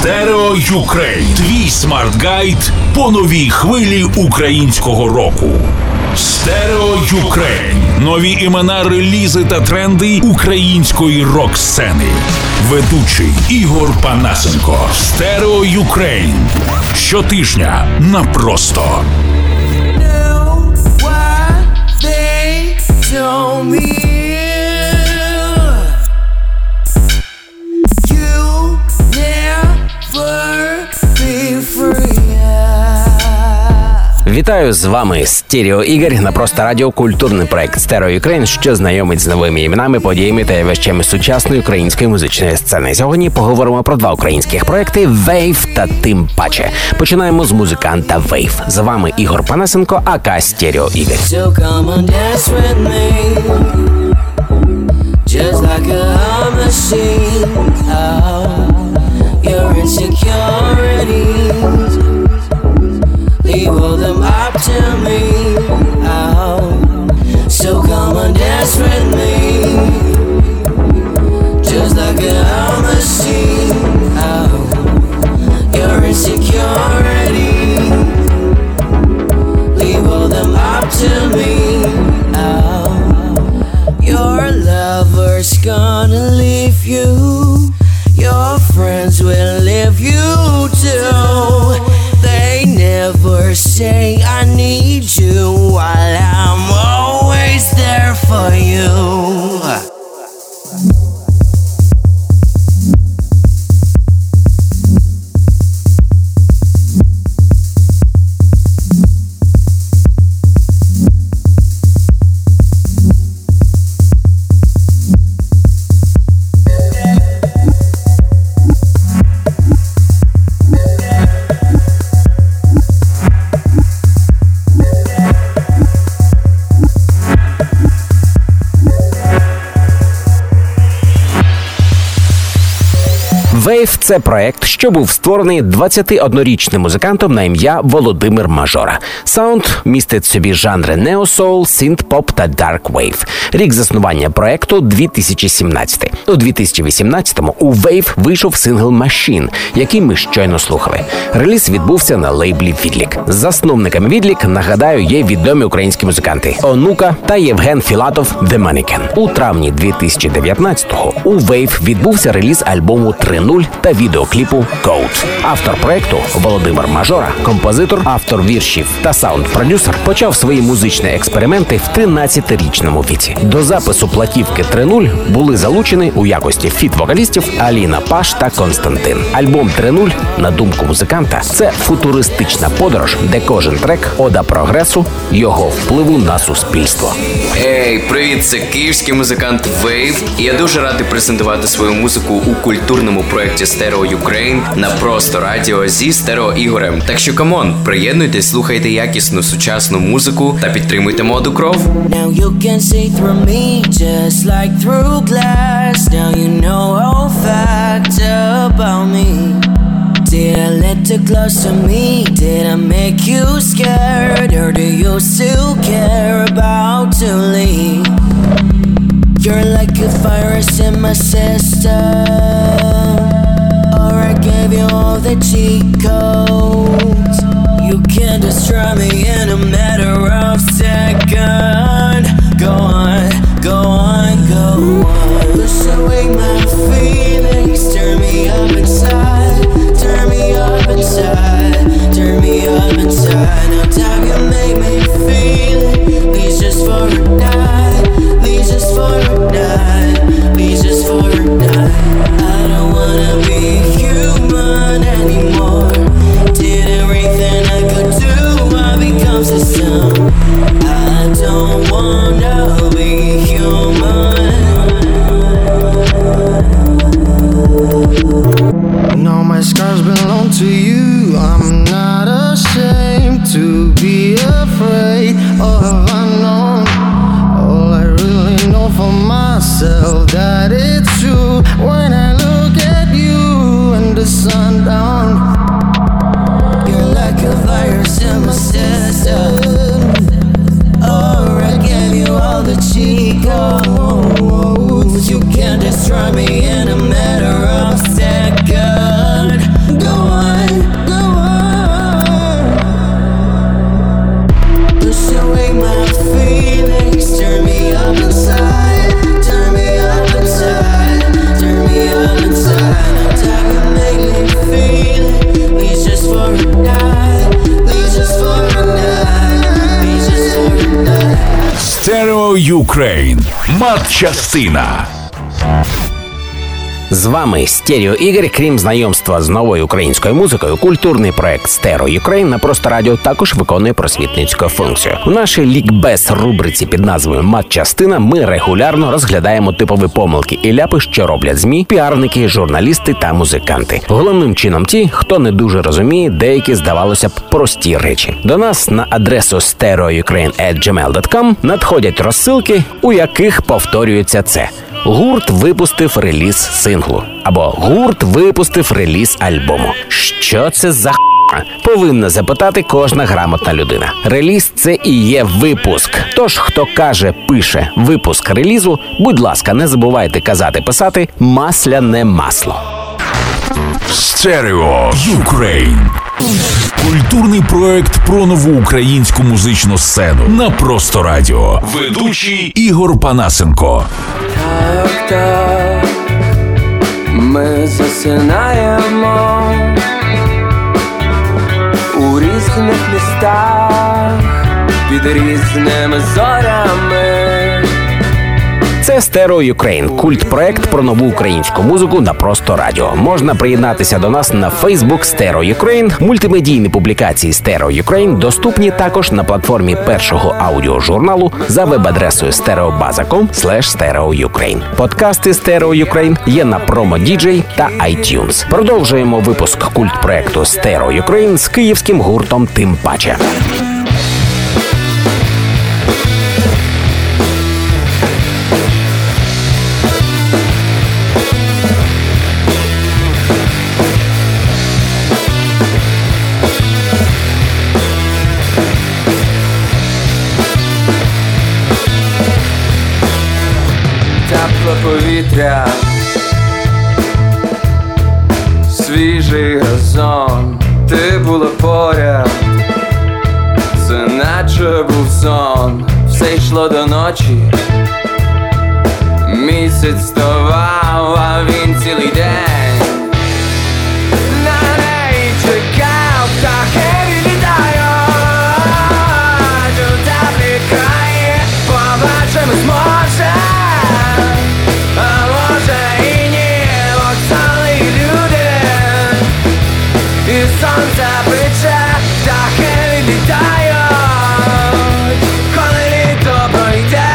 Stereo Ukraine. Твій смарт-гайд по новій хвилі українського року. Stereo Ukraine. Нові імена, релізи та тренди української рок-сцени. Ведучий Ігор Панасенко. Stereo Ukraine. Щотижня на Просто. Вітаю, з вами Стерео Ігор на Просто Радіо, культурний проект Stereo Ukraine, що знайомить з новими іменами, подіями та явищами сучасної української музичної сцени. Сьогодні поговоримо про два українських проекти «Wave» та «Тим паче». Починаємо з музиканта «Wave». З вами Ігор Панасенко, ака Стерео Ігор. Leave all them up to me, oh. So come and dance with me, just like a machine, oh. Your insecurity, leave all them up to me, oh. Your lover's gonna leave you, your friends will leave you too. Never say I need you while I'm always there for you. «Wave» – це проект, що був створений 21-річним музикантом на ім'я Володимир Мажора. Саунд містить в собі жанри неосоул, синт-поп та дарк вейв. Рік заснування проекту – 2017. У 2018-му у «Wave» вийшов сингл «Machine», який ми щойно слухали. Реліз відбувся на лейблі «Відлік». Засновниками «Відлік», нагадаю, є відомі українські музиканти Онука та Євген Філатов «The Mannequin». У травні 2019-го у «Wave» відбувся реліз альбому «3.0» та відеокліпу «Code». Автор проекту Володимир Мажора, композитор, автор віршів та саунд-продюсер, почав свої музичні експерименти в 13-річному віці. До запису платівки «3.0» були залучені у якості фіт-вокалістів Аліна Паш та Константин. Альбом «3.0», на думку музиканта, це футуристична подорож, де кожен трек – ода прогресу, його впливу на суспільство. Ей, привіт, це київський музикант «Wave», і я дуже радий презентувати свою музику у культурному проєкті Stereo Ukraine на Просто Радіо зі Стерео Ігорем. Так що, камон, приєднуйтесь, слухайте якісну сучасну музику та підтримуйте моду кров. Now you can see through me just like through glass. Now you know all facts about me. Did I let you close to me? Did I make you scared? Or do you still care about to leave? You're like a virus in my system, or I gave you all the cheat codes. You can destroy me in a matter of seconds. Go on, go on, go on. Push away my feelings, turn me up inside, turn me up inside, turn me up inside. Now time you make me feel it, please just for a night, please just for a night, please just for a night. I don't wanna be human anymore. Ukraine. Матчастина. З вами Стерео Ігор. Крім знайомства з новою українською музикою, культурний проект Стерео Юкрейн на Просто Радіо також виконує просвітницьку функцію. У нашій лікбез рубриці під назвою «Матчастина» ми регулярно розглядаємо типові помилки і ляпи, що роблять ЗМІ, піарники, журналісти та музиканти. Головним чином ті, хто не дуже розуміє деякі, здавалося б, прості речі. До нас на адресу stereoukraine@gmail.com надходять розсилки, у яких повторюється це. Гурт випустив реліз синглу. Або гурт випустив реліз альбому. Що це за повинна запитати кожна грамотна людина. Реліз – це і є випуск. Тож, хто каже, пише випуск релізу, будь ласка, не забувайте казати-писати «масляне масло». Стерео Юкрейн. Культурний проект про нову українську музичну сцену на Просто Радіо. Ведучий Ігор Панасенко. Так, ми засинаємо у різних містах під різними зорями. Це Стерео Юкрейн, культ-проект про нову українську музику на Просто Радіо. Можна приєднатися до нас на Facebook Стерео Юкрейн. Мультимедійні публікації Стерео Юкрейн доступні також на платформі першого аудіожурналу за веб-адресою stereobazzacom/stereoukraine. Подкасти Стерео Юкрейн є на Promo.dj та iTunes. Продовжуємо випуск культ-проекту Стерео Юкрейн з київським гуртом «Тим паче». Повітря, свіжий газон, ти була поряд, це наче був сон, все йшло до ночі, місяць вставав, а він цілий день на неї чекав, птахи відлітають у теплі краї, побачимось може. Сонце пече, птахи відлітають, коли літо пройде.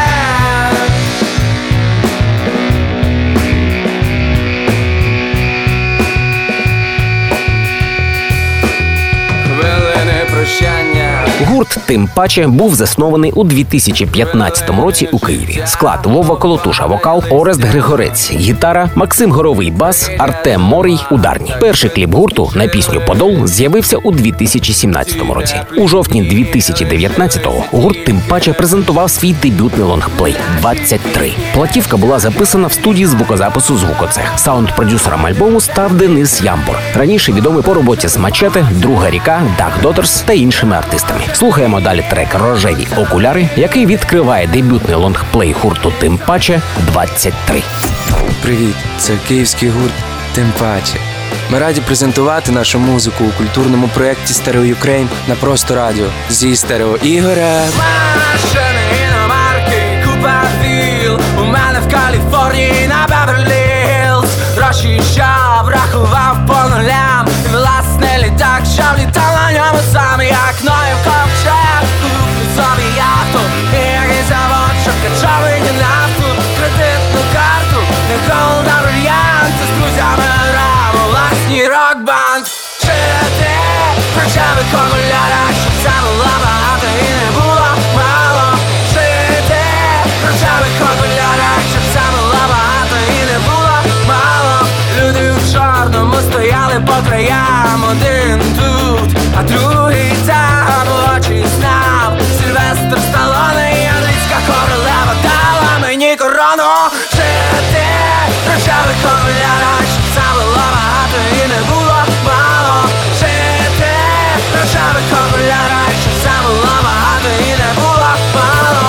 Хвилини прощання. Гурт «Тим паче» був заснований у 2015 році у Києві. Склад: Вова Колотуша – вокал, Орест Григорець – гітара, Максим Горовий – бас, Артем Морій – ударні. Перший кліп гурту на пісню «Подол» з'явився у 2017 році. У жовтні 2019-го гурт «Тим паче» презентував свій дебютний лонгплей «23». Платівка була записана в студії звукозапису «Звукоцех». Саунд-продюсером альбому став Денис Ямбур, раніше відомий по роботі з «Мачете», «Друга ріка», «Duck Daughters» та іншими артистами. Слухаємо далі трек «Рожеві окуляри», який відкриває дебютний лонгплей гурту «Тим паче» 23. Привіт, це київський гурт «Тим паче». Ми раді презентувати нашу музику у культурному проєкті «Стерео Юкрейн» на Просто Радіо зі Стерео Ігорем. Машини, іномарки, купа віл, у мене в Каліфорнії на Беверлі-Гілз. Гроші, що врахував по нулям, і власне літак, що влітав на ньому сам, як Ноєв ковчег. Куплю собі яхту, і який завод, що качовий нафту, кредитну карту, не голда брильянти, з друзями грав у власній рок-банд. Чи ти рожевих окулярах, щоб це було багато і не було мало? Чи ти рожевих окулярах, щоб це було багато і не було мало? Люди в чорному стояли по краям, один тут, а другий там, очі знав. Сильвестр Сталоне і англійська королева дала мені корону. Чи ти рожевих окулярах, щоб це було багато і не було мало? Чи ти рожевих окулярах, щоб це було багато і не було мало?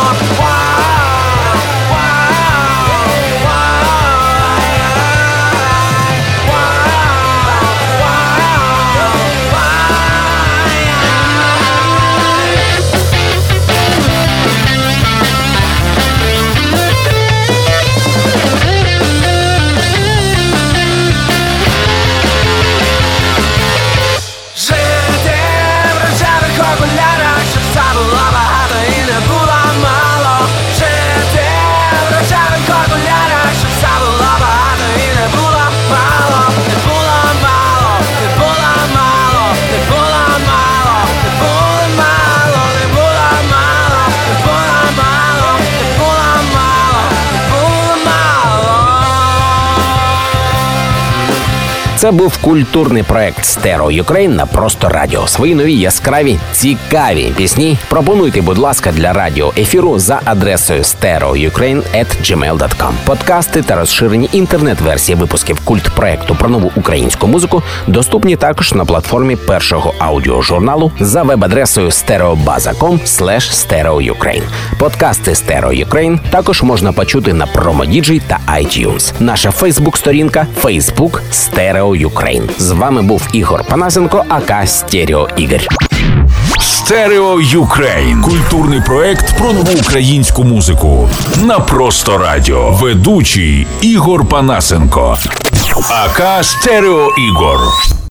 Це був культурний проект Стерео Юкрейн на Просто Радіо. Свої нові яскраві, цікаві пісні пропонуйте, будь ласка, для радіоефіру за адресою stereoukraine@gmail.com. Подкасти та розширені інтернет-версії випусків культпроекту про нову українську музику доступні також на платформі першого аудіожурналу за веб-адресою stereobaza.com/stereoukraine. Подкасти Стерео Юкрейн також можна почути на Promodigi та iTunes. Наша фейсбук-сторінка Facebook Стерео Юкрейн. З вами був Ігор Панасенко, ака Стерео Ігор. Стерео Юкрейн. Культурний проект про нову українську музику. На Просто Радіо. Ведучий Ігор Панасенко. АК Стерео Ігор.